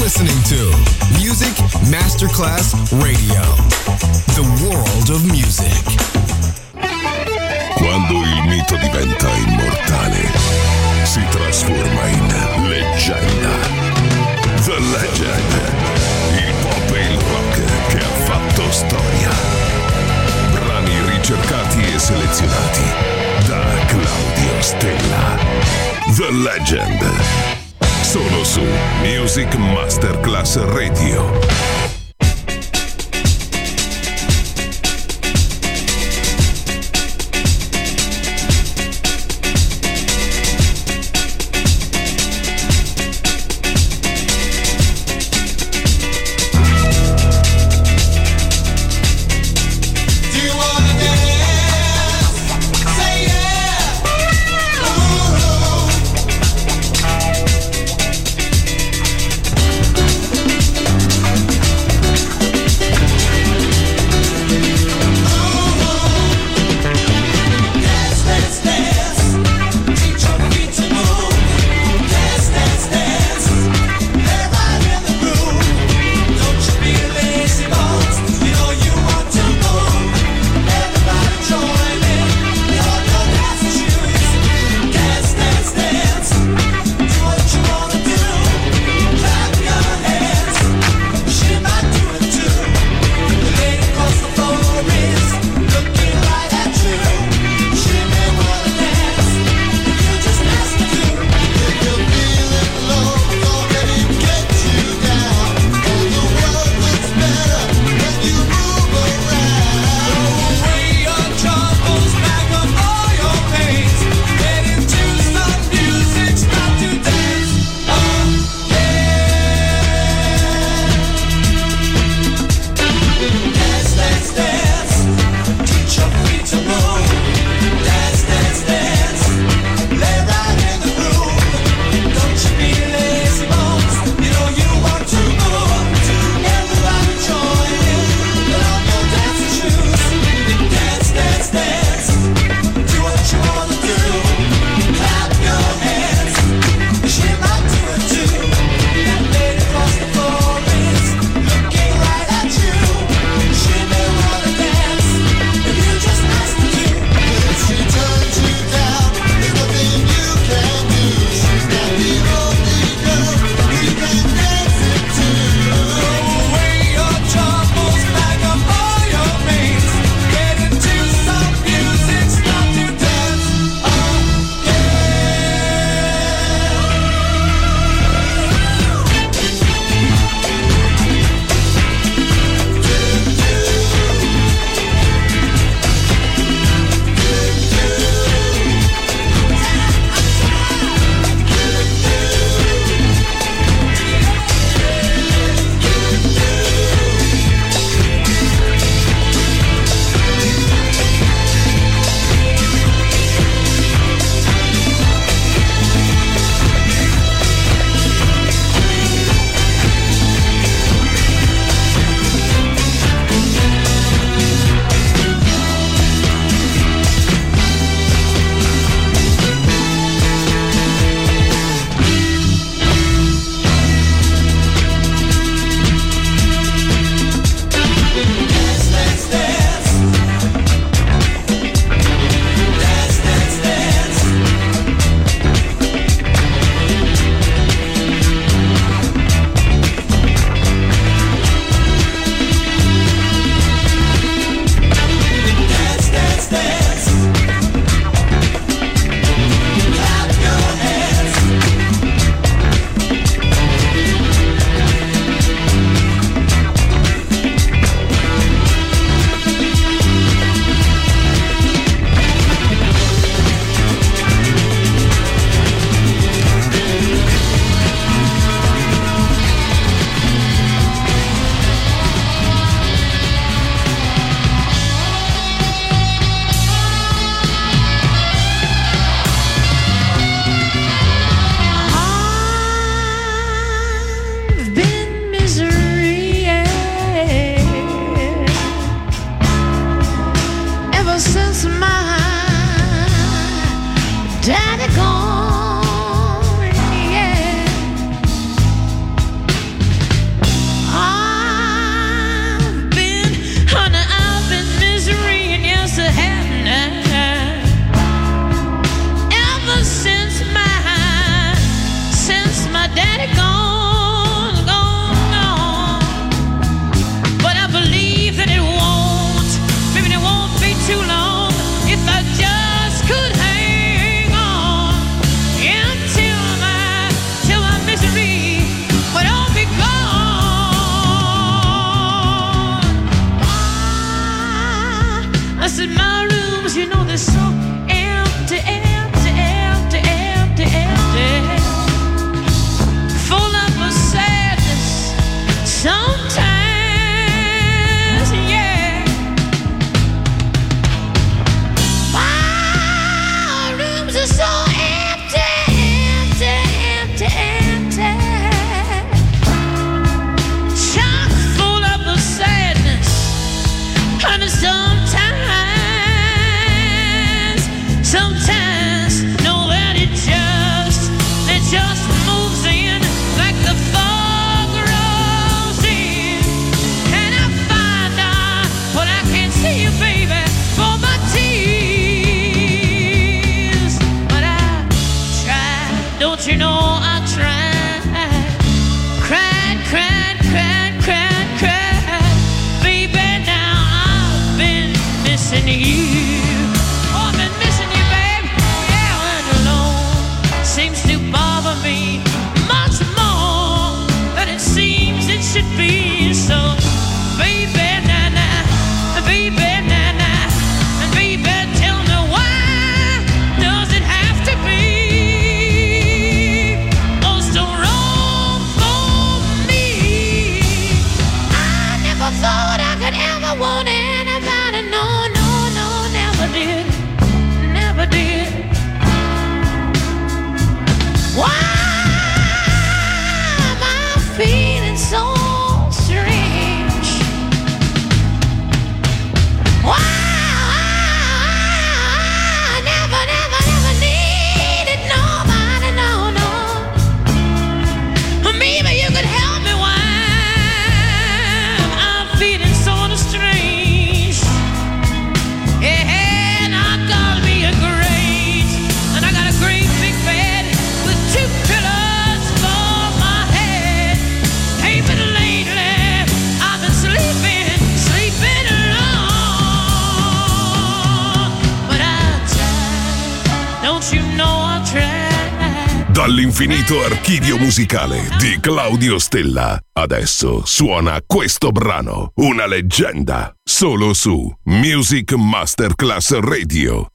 listening to Music Masterclass Radio, the world of music. Quando il mito diventa immortale, si trasforma in leggenda. The Legend, il pop e il rock che ha fatto storia. Brani ricercati e selezionati da Claudio Stella. The Legend. Solo su Music Masterclass Radio. Dall'infinito archivio musicale di Claudio Stella. Adesso suona questo brano, una leggenda, solo su Music Masterclass Radio.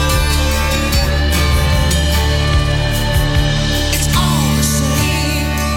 It's all the same.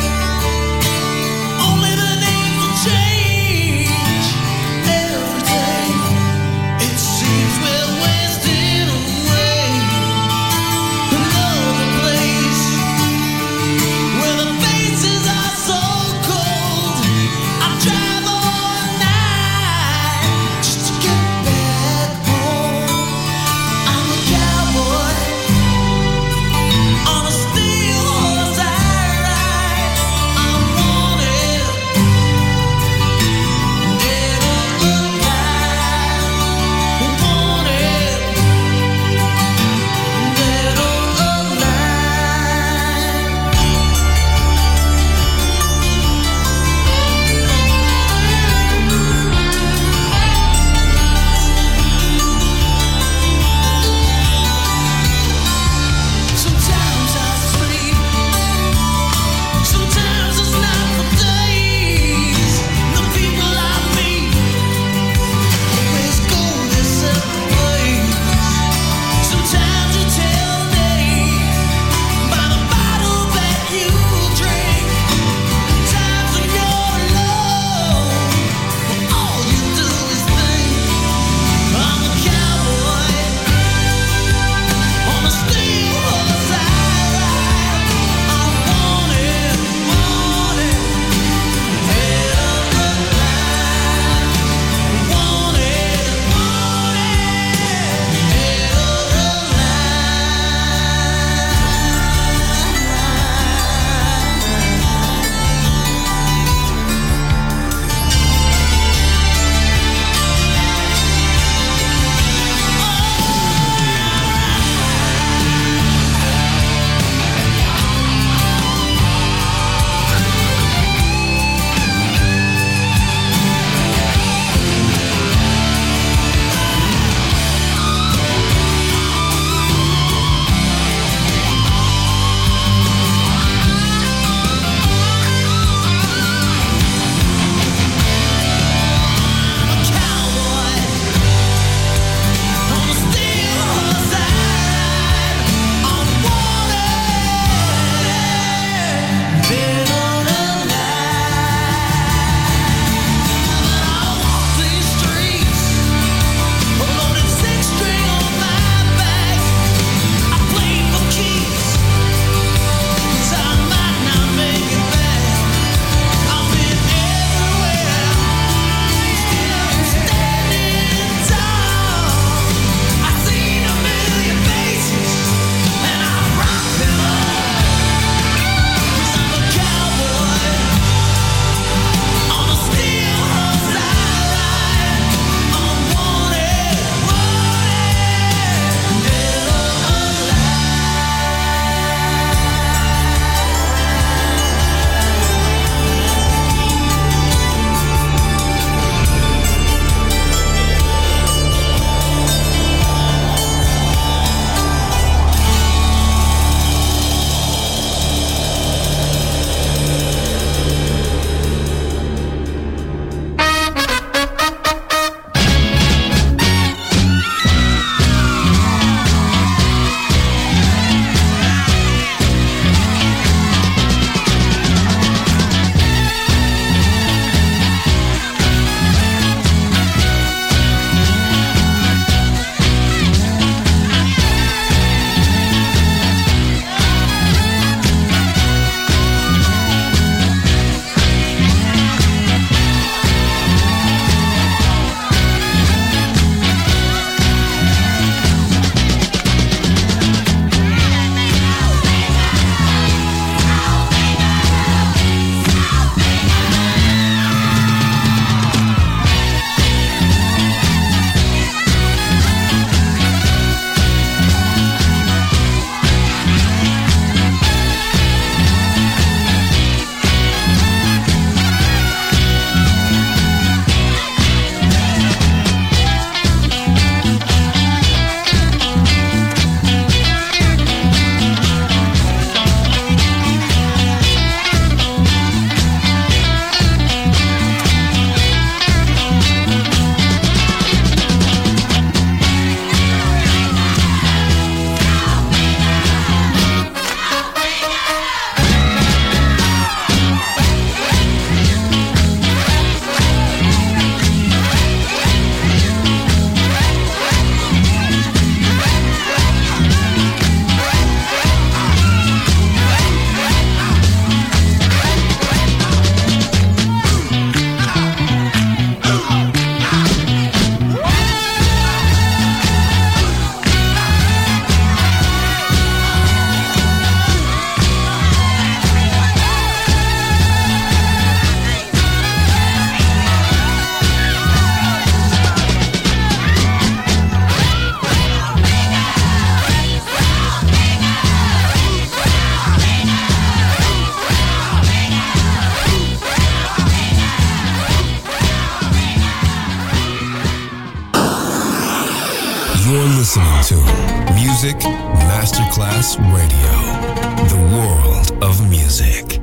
You're listening to Music Masterclass Radio, the world of music.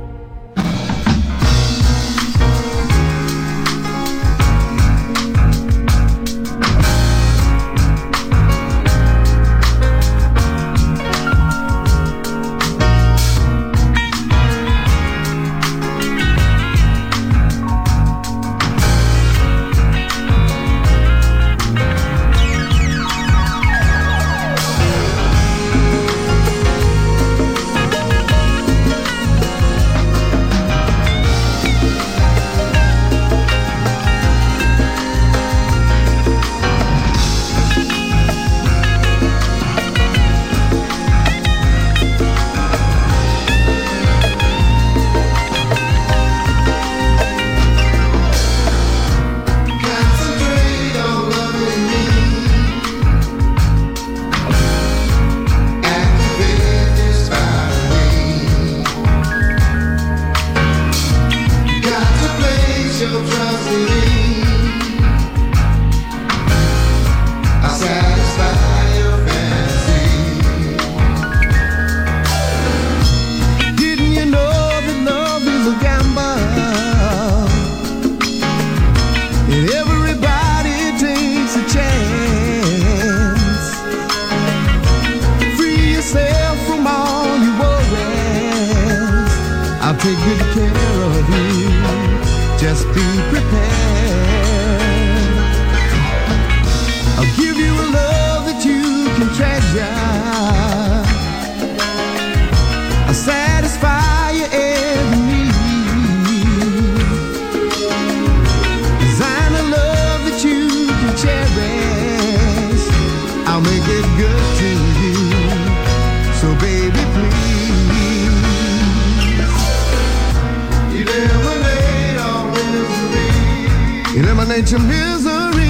Eliminate your misery.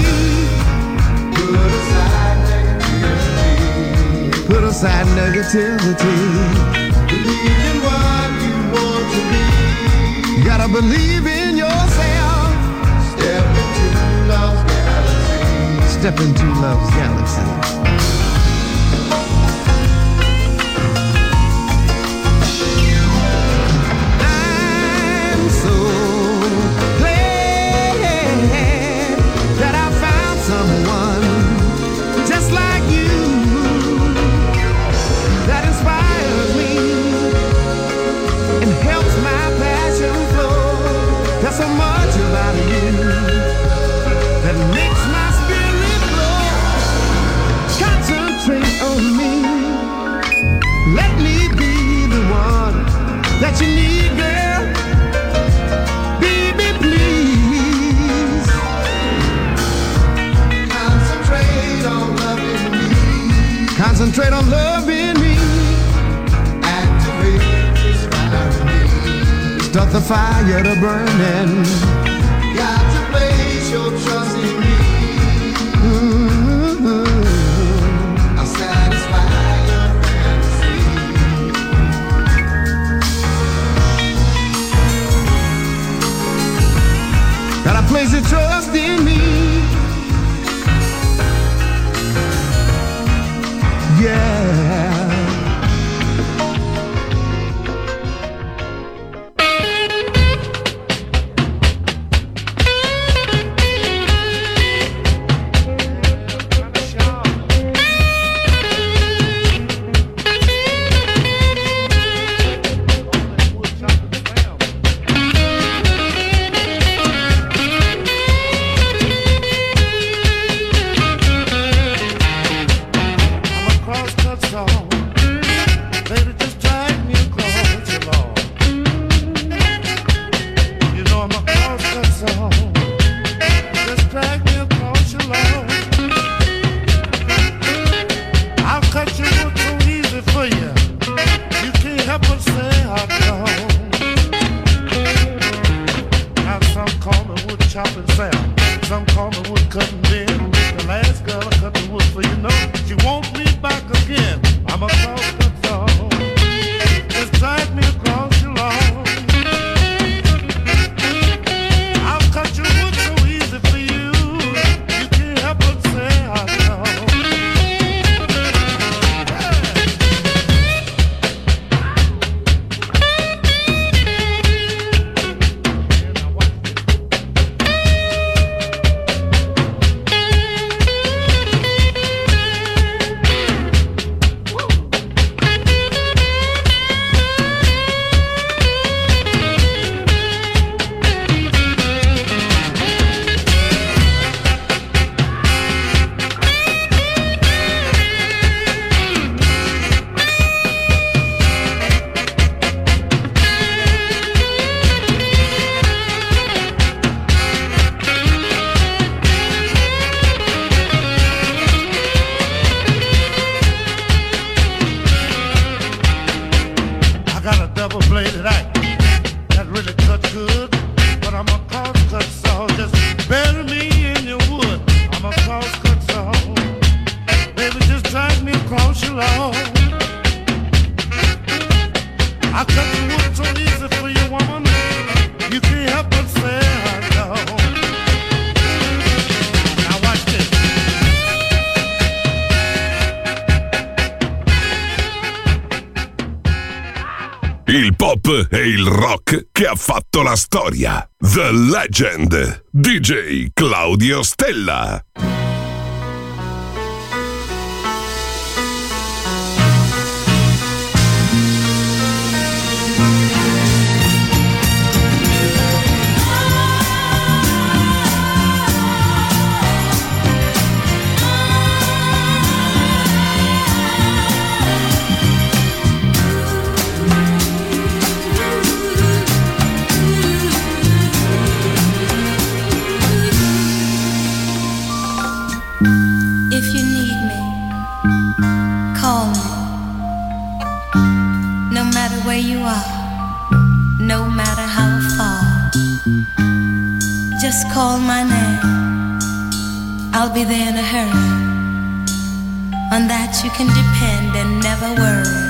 Put aside negativity. Believe in what you want to be. You gotta believe in yourself. Step into love's galaxy. Step into love's galaxy. So much about you that makes my spirit glow. Concentrate on me. Let me be the one that you need, girl. Baby, please. Concentrate on loving me. Concentrate on loving me. Activate this fire in me. Start the fire to burning. Got to place your trust in me. I'll satisfy your fantasy. Gotta place your trust in me. Yeah. il pop e il rock che ha fatto la storia. The Legend, DJ Claudio Stella. Where you are, no matter how far, just call my name, I'll be there in a hurry. On that you can depend and never worry.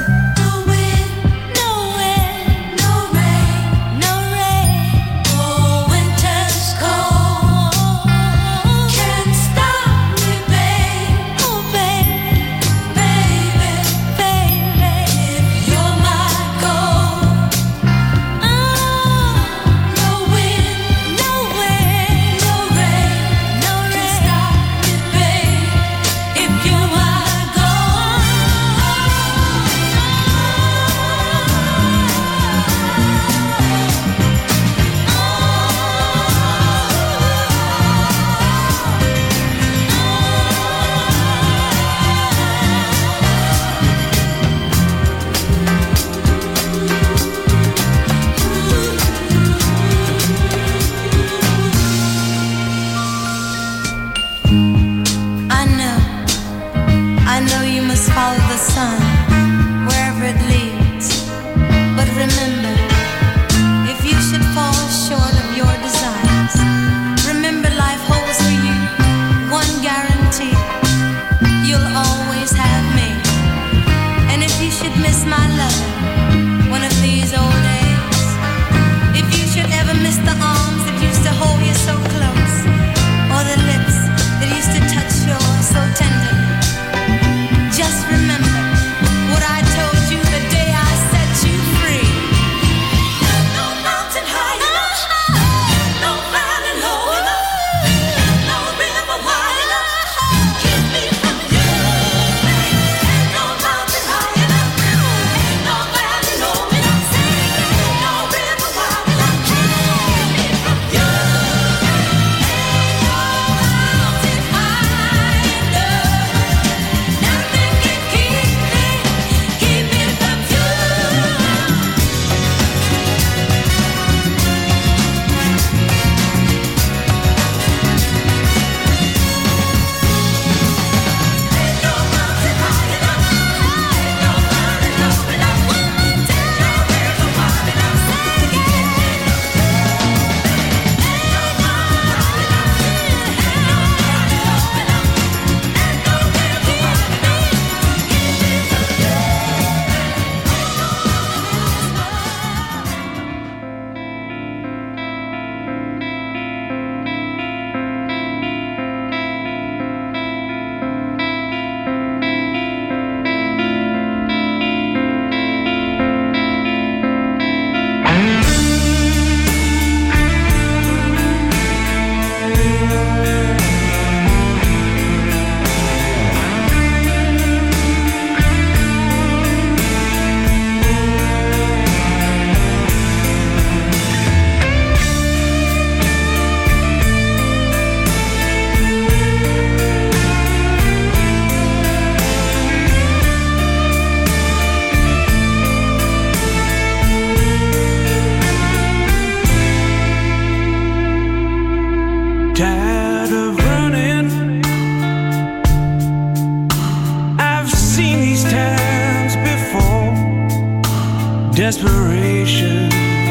Desperation,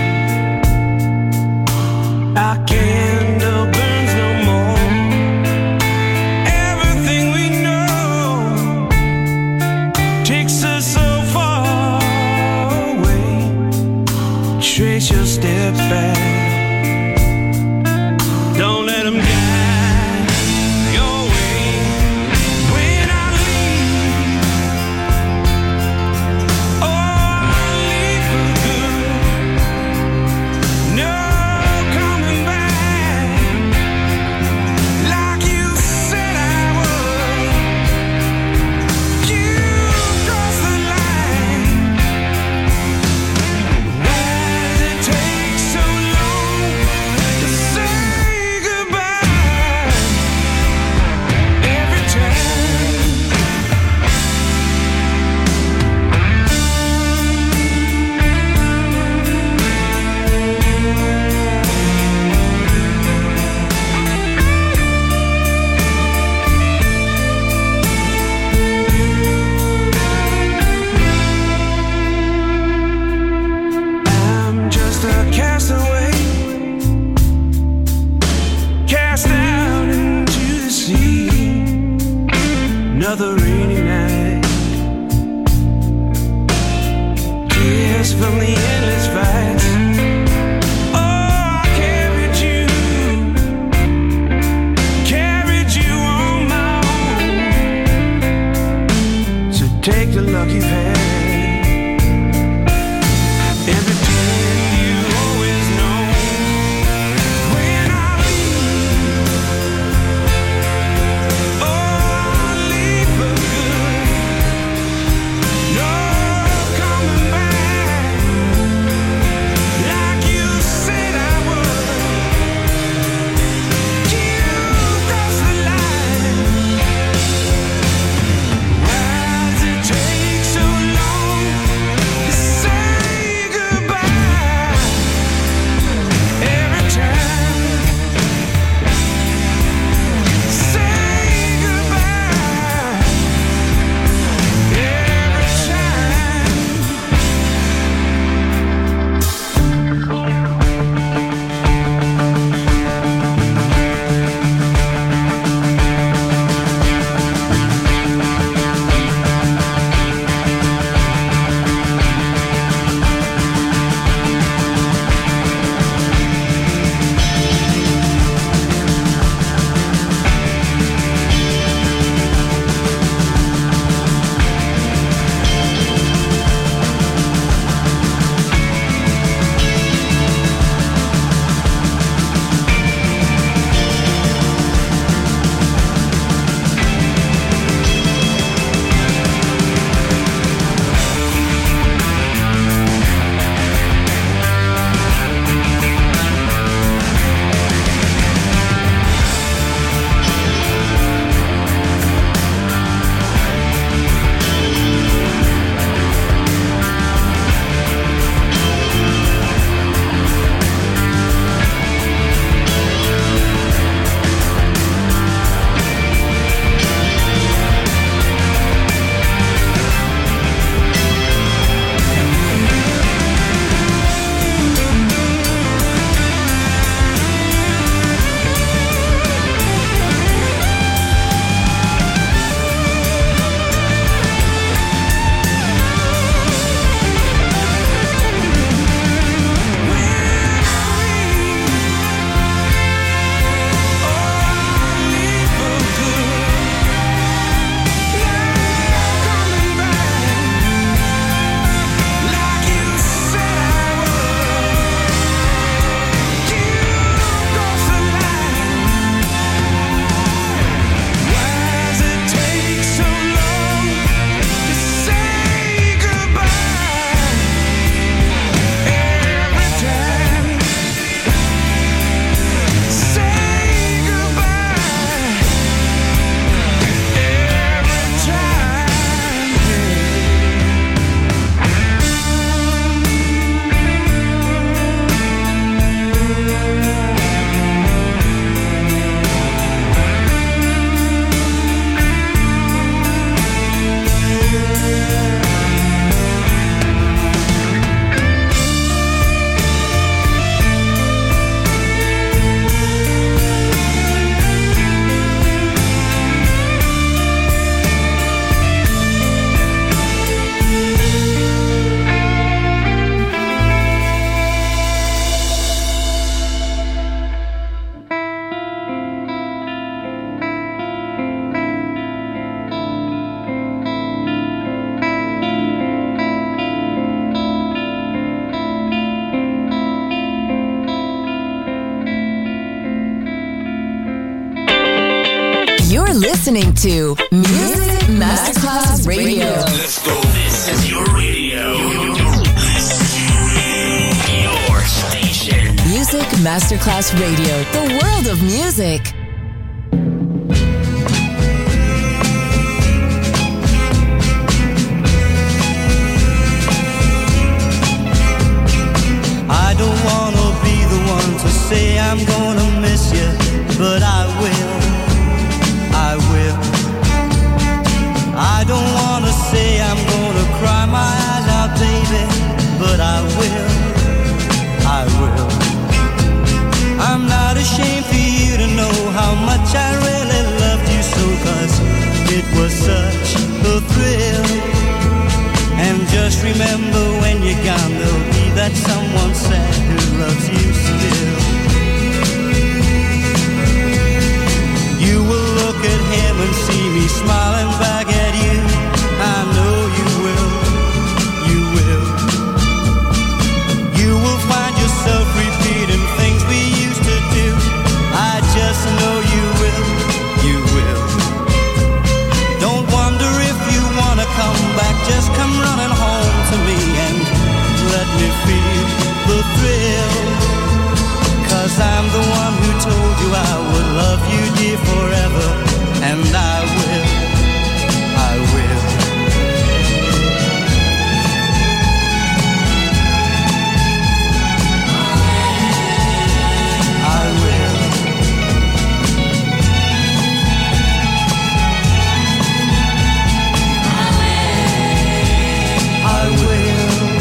our candle burns no more. Everything we know takes us so far away. Trace your steps back. Don't let them guide your way. When I leave, oh, I leave for good. another rainy night. Tears from the endless fights. Take the luck you've had. And pretend you always know when I leave. Oh, I'll leave for good. No coming back like you said I would. You crossed the line. Take so long to say goodbye. Every time, say goodbye. Every time. Listening to Music Masterclass Radio. Let's go. This is your radio. Your station. Music Masterclass Radio. The world of music. I don't wanna be the one to say I'm gonna miss you, but I will. I don't wanna say I'm gonna cry my eyes out, baby, but I will. I'm not ashamed for you to know how smiling back at you. I know you will, you will. You will find yourself repeating things we used to do. I just know you will, you will. Don't wonder if you wanna come back, just come running home to me and let me feel the thrill. 'Cause I'm the one who told you I would love you, dear, forever. And I will, I will. I will. I will.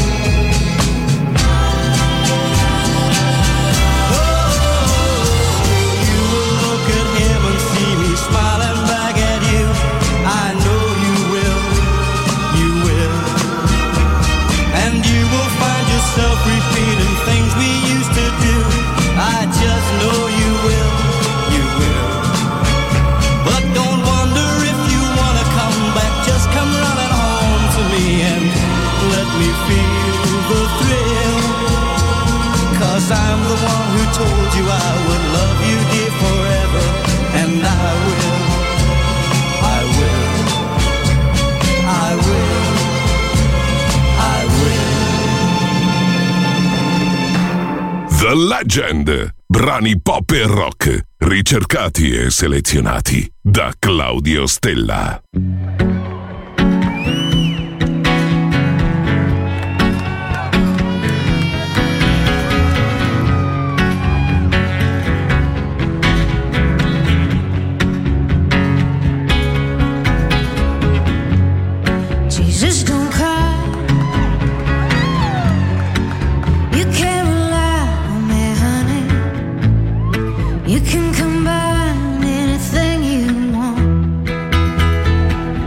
Smiling back at you, I know you will, you will. And you will find yourself repeating things we used to do. I just know you will, you will. But don't wonder if you wanna come back, just come running home to me and let me feel the thrill. 'Cause I'm the one who told you I would love you, dear, forever. And I will, I will, I will, I will. The Legend, brani pop e rock, ricercati e selezionati da Claudio Stella. You can combine anything you want.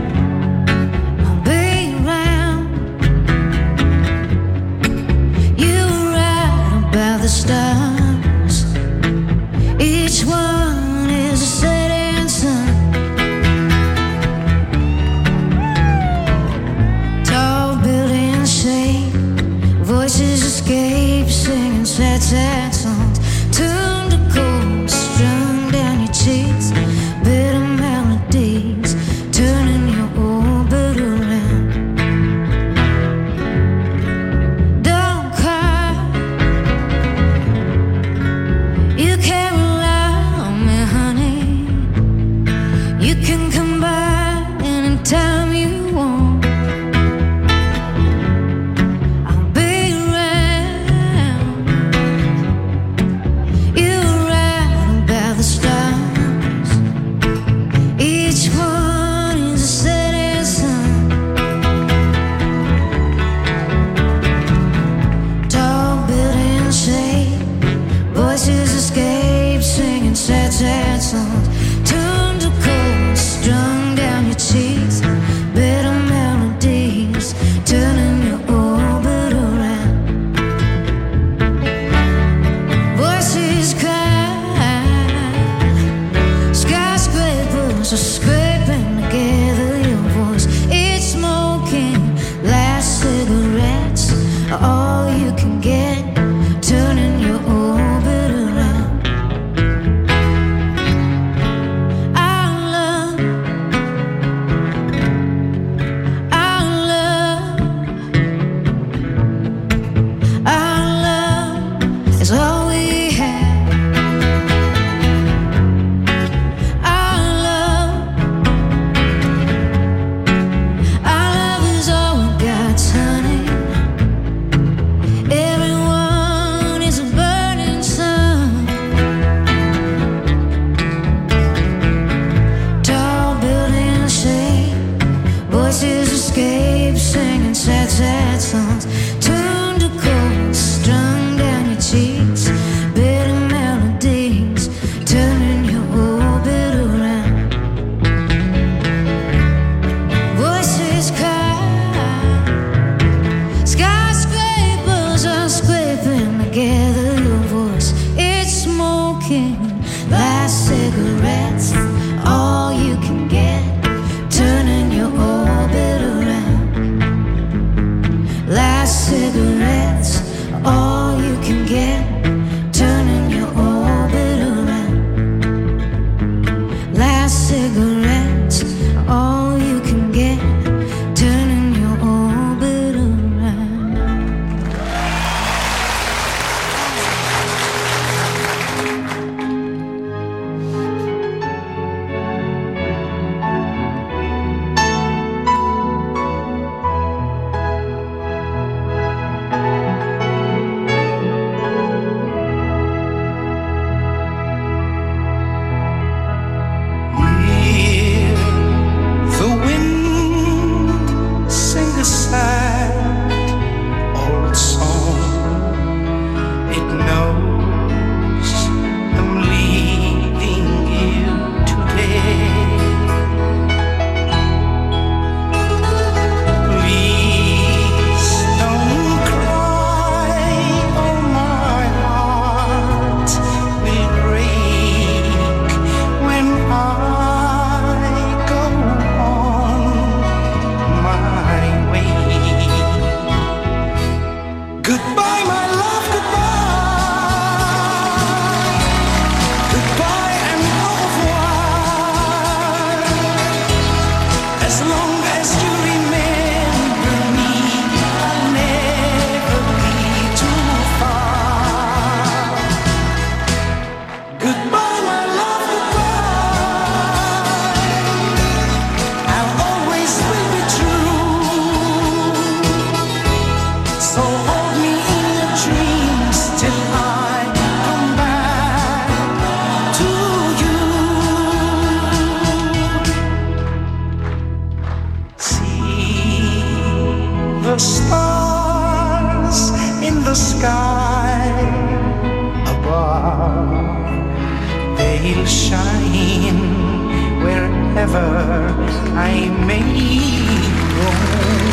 they'll shine wherever I may roam.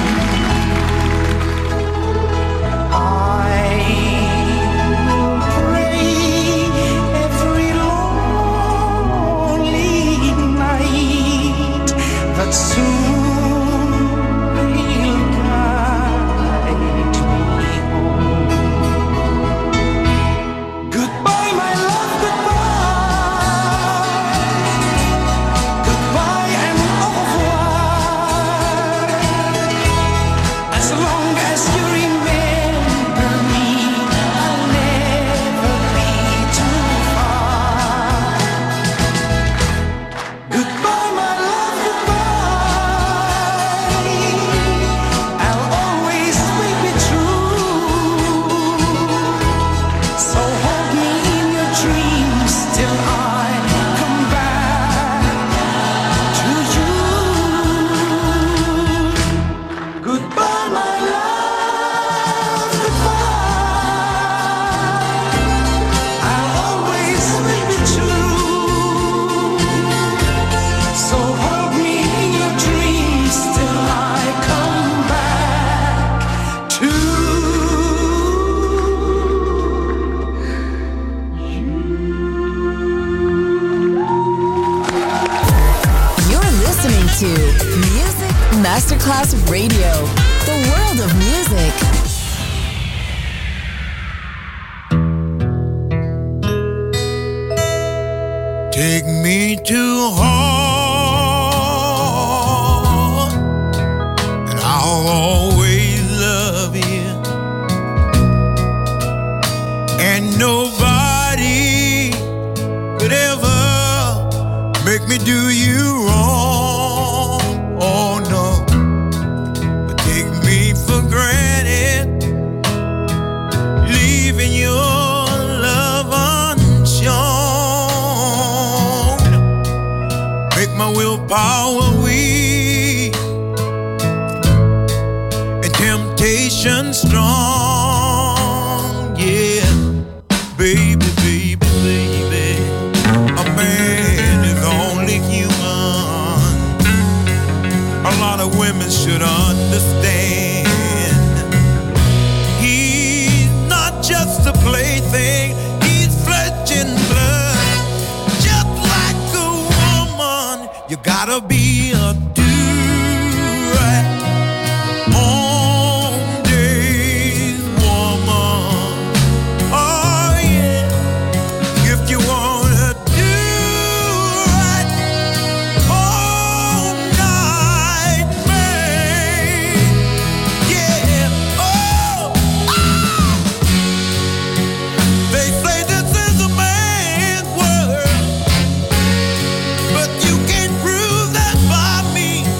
I will pray every lonely night that soon they'll guide me home. Goodbye, my love, goodbye. Goodbye and au revoir. As long as you remember me, I'll never be too far. Goodbye, my love, goodbye. I'll always be true. So hold me in your dreams till I come back to you. Goodbye, my love, goodbye. I'll always be true. So hold me in your dreams till I come back to you. You're listening to Music Masterclass Radio, the world of music. Take me to heart, and I'll always love you. And nobody could ever make me do you wrong. Oh no, but take me for granted, leaving your love unshown. Make my willpower weak and temptation strong. Yeah, baby, baby, baby, a man is only human. A lot of women should understand. He's not just a plaything, he's flesh and blood. Just like a woman, you gotta be a do-right on days woman. Oh yeah, if you wanna do right all night, man. Yeah, oh, they say this is a man's world, but you can't prove that by me.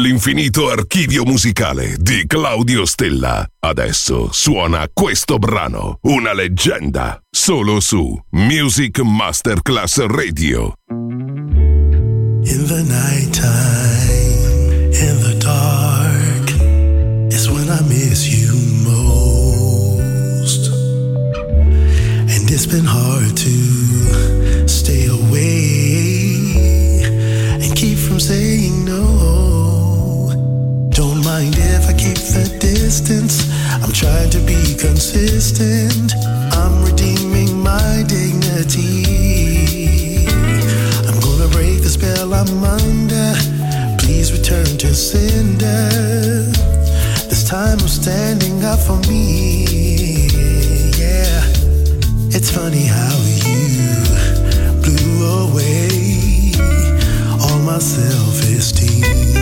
l'infinito archivio musicale di Claudio Stella. Adesso suona questo brano, una leggenda, solo su Music Masterclass Radio. In the nighttime, in the dark, is when I miss you most. And it's been hard to stay away and keep from saying no. Don't mind if I keep the distance, I'm trying to be consistent. I'm redeeming my dignity. I'm gonna break the spell I'm under. Please return to sender. This time I'm standing up for me. Yeah, it's funny how you blew away all my self-esteem.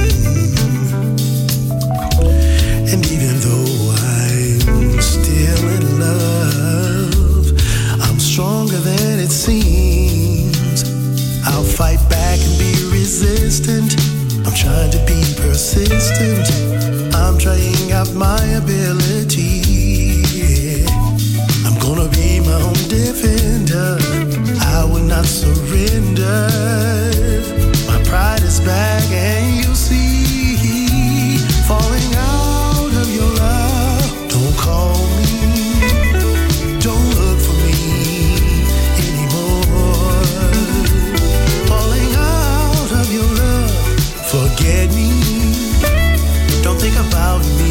And even though I'm still in love, I'm stronger than it seems. I'll fight back and be resistant. I'm trying to be persistent. I'm trying out my ability. I'm gonna be my own defender. I will not surrender. My pride is back and you'll see, falling out of your love. Don't call me, don't look for me anymore. Falling out of your love, forget me, don't think about me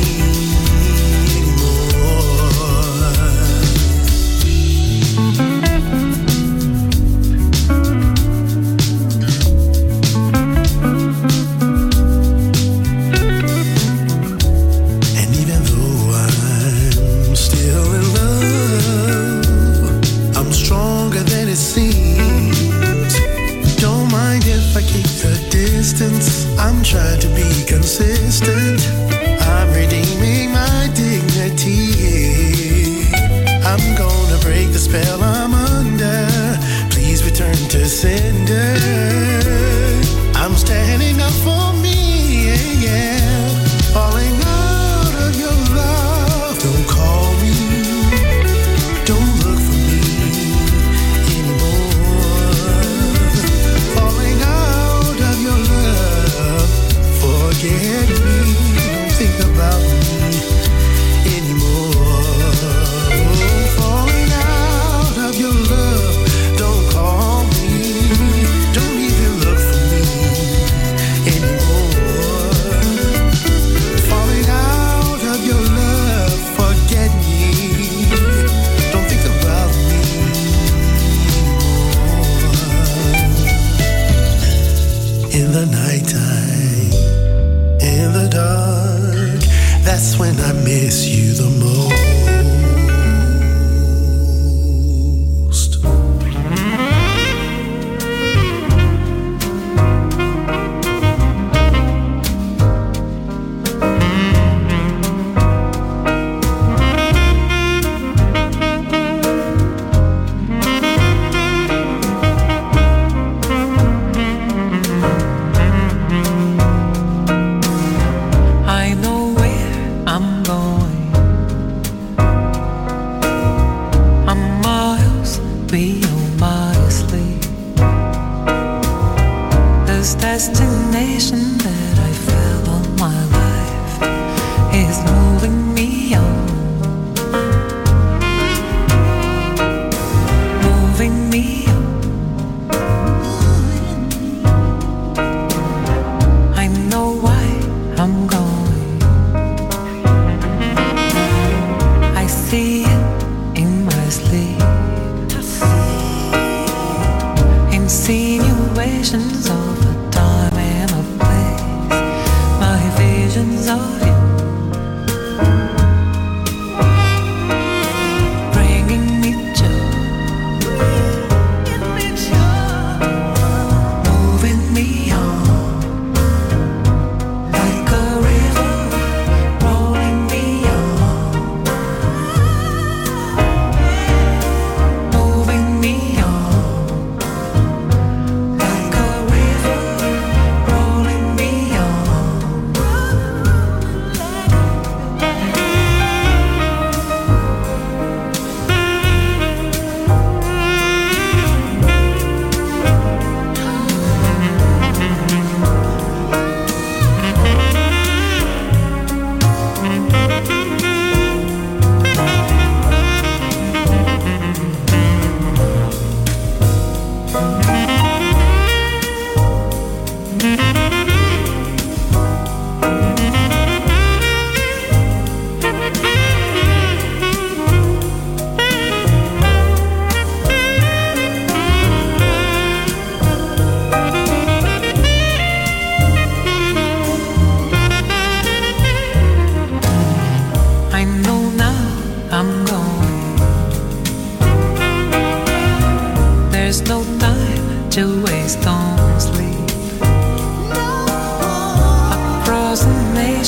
distance. I'm trying to be consistent. I'm redeeming my dignity. I'm gonna break the spell I'm under. Please return to sender. I'm standing up for me, yeah. Falling out of your love. Don't call me, don't look for me anymore. Falling out of your love, forget me, don't think about me anymore. Falling out of your love, don't call me, don't even look for me anymore. Falling out of your love, forget me, don't think about me anymore. In the nighttime, in the dark, that's when I miss you the most. I know where I'm going.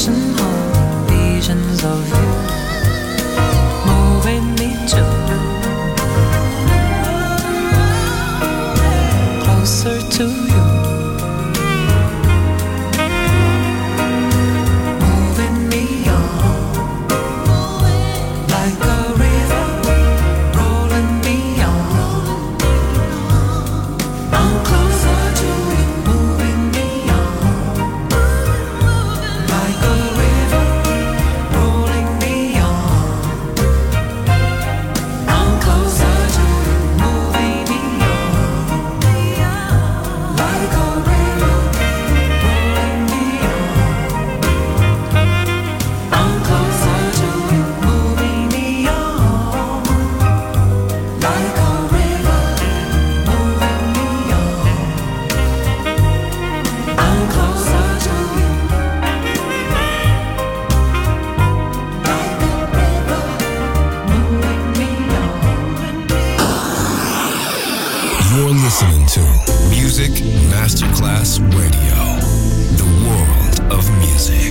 racing home, visions of you moving me to closer to you, moving me on like a river rolling me on. I'm closer to you, moving me on like a river rolling me on. I'm closer to you, moving me on like a river rolling me on. I'm closer to you, moving me on like a river moving me on. I'm closer to you like a river moving me on. You're listening to Music Masterclass Radio, the world of music.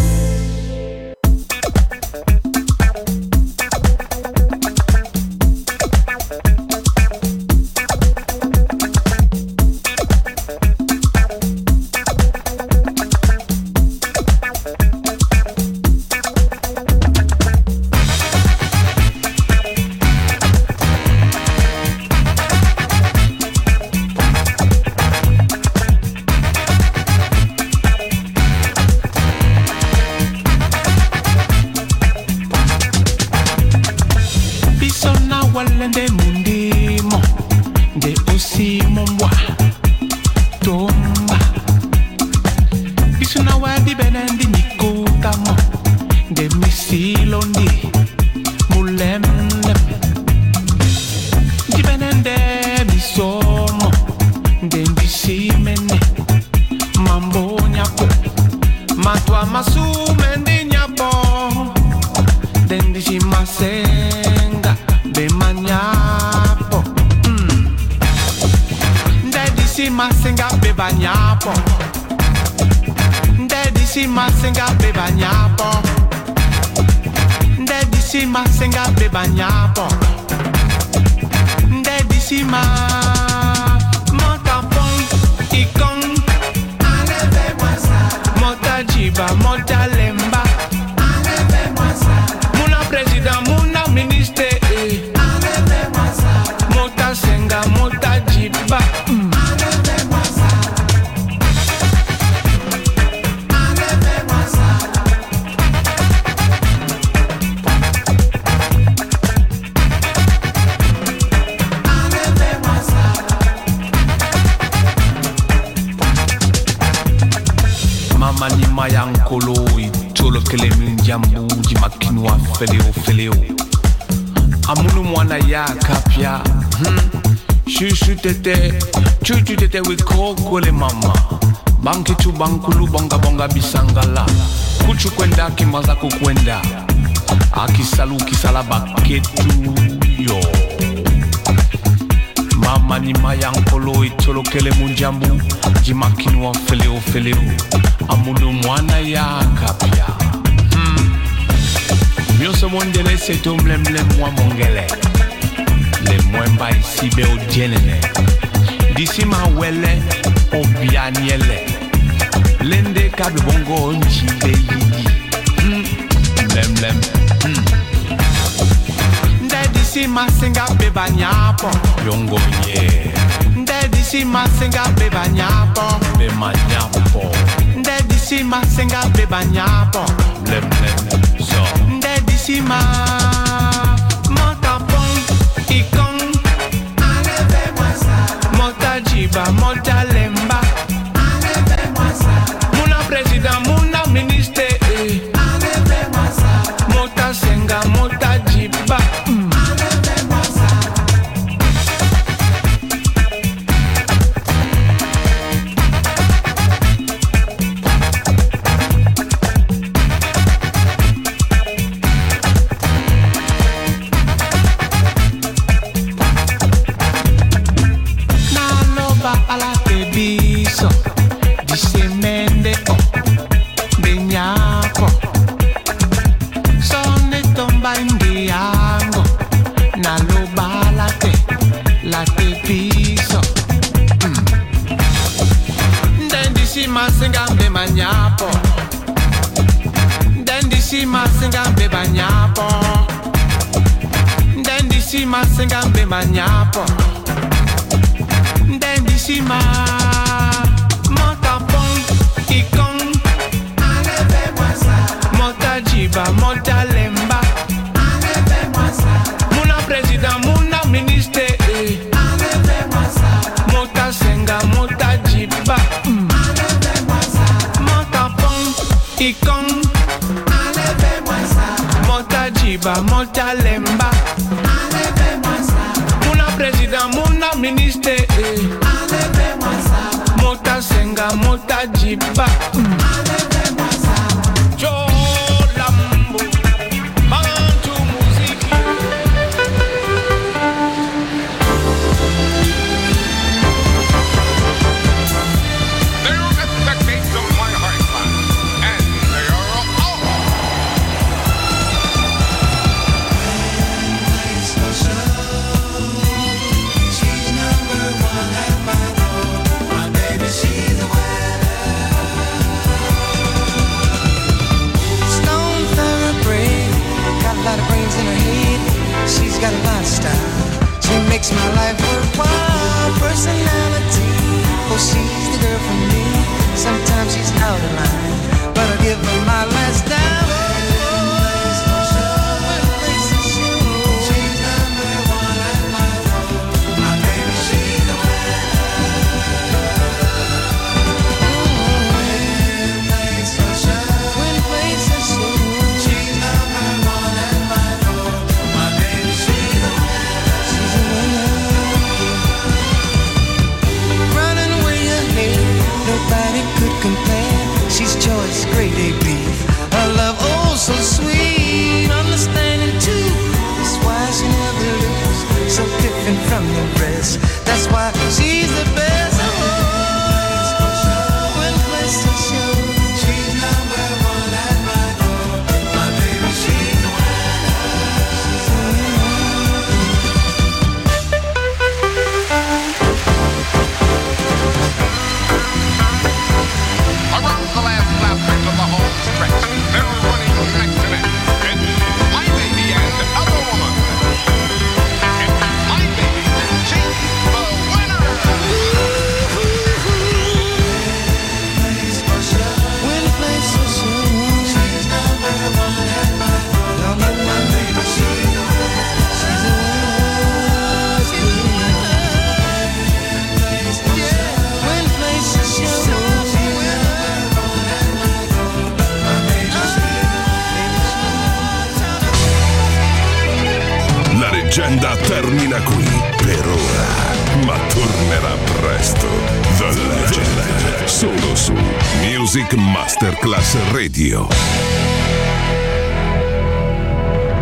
Bisona walende mundimo de osimo mwa tomba. Bisona wadi benendi nikotamo de misilondi mulemlem. Di benende misomo de bisimene mambo nyako matwa masumendi nyapo dendi si masenga be manyapo. Dendi si masenga be banyapo. Dendi si masenga be banyapo. Dendi si masenga be banyapo. Dendi si ma montapon ikon aleve mwasa mota jiba mota lemba aleve mwasa muna president muna ministre aleve mwasa mota senga mota jiba aleve mwasa aleve mwasa aleve mwasa. Mama ni mayankolo itolo kele minjambu di makinwa feleo amunu mwana ya kapya shushu tete chuchu tete wiko le mama banki tu bankulu bonga bisangala kuchu kwenda kimaza kukwenda akisalu kisala baketu yo. Mama ni mayankolo itolo kele munjambu jimakinwa feleo amunu mwana ya kapya. Mioso mondele seto mlemle mwa mongele le mwemba isi be odienene disi ma wele obianiele lende kabe bongo njibe yidi mlemlem ndedi si masenga be banyapo yongo nye ndedi si masenga be banyapo be manyapo ndedi si masenga be banyapo mlemlem so ndedi si ma montapon ikon aleve mwasa mota jiba mota lemba aleve mwasa muna president muna ministre aleve mwasa mota senga mota jiba aleve mwasa. Ala nyapo. Sonne tomba indiango. Na loba latte piso. Dendi si masinga beba nyapo. Dendi si masinga beba nyapo. Dendi si masinga beba nyapo. Dendi si ma Monta pon ikon. Enlevez moi ça. Monta jiba, monta lemba. Enlevez moi ça. Muna président, muna ministre. Enlevez moi ça. Monta senga, monta jiba. Enlevez moi ça. Monta pon ikon. Enlevez moi ça. Monta jiba, monta lemba. Enlevez moi ça. Muna président, muna ministre. Enlevez moi ça. Monta senga, monta jiba. Enlevez moi ça. Joe Lambo, Bantu musique. They're at the gates of my heart, and they are all. She's number one at my door. My baby, she's a Stone thoroughbred, got a lot of brains in her head. She's got a lot of style. She makes my life worthwhile. Personality, oh, she's the girl for me. Sometimes she's out of line, but I give her my last dime. She's number one at my door. My baby, she's the she's choice, grade A beef. Her love, oh so sweet, understanding too. That's why she never loses, so different from the rest. That's why she's the best. Oh, when place to show. She's number one at my door. My baby, she's the Around the last lap into the home stretch, they're running neck to neck. It's my baby and other woman. It's my baby. She's the winner. when place to show. She's number one at my door. My baby, she's the winner. She's the winner. She's the winner. When place to show. La leggenda termina qui per ora, ma tornerà presto. The Legend, solo su Music Masterclass Radio.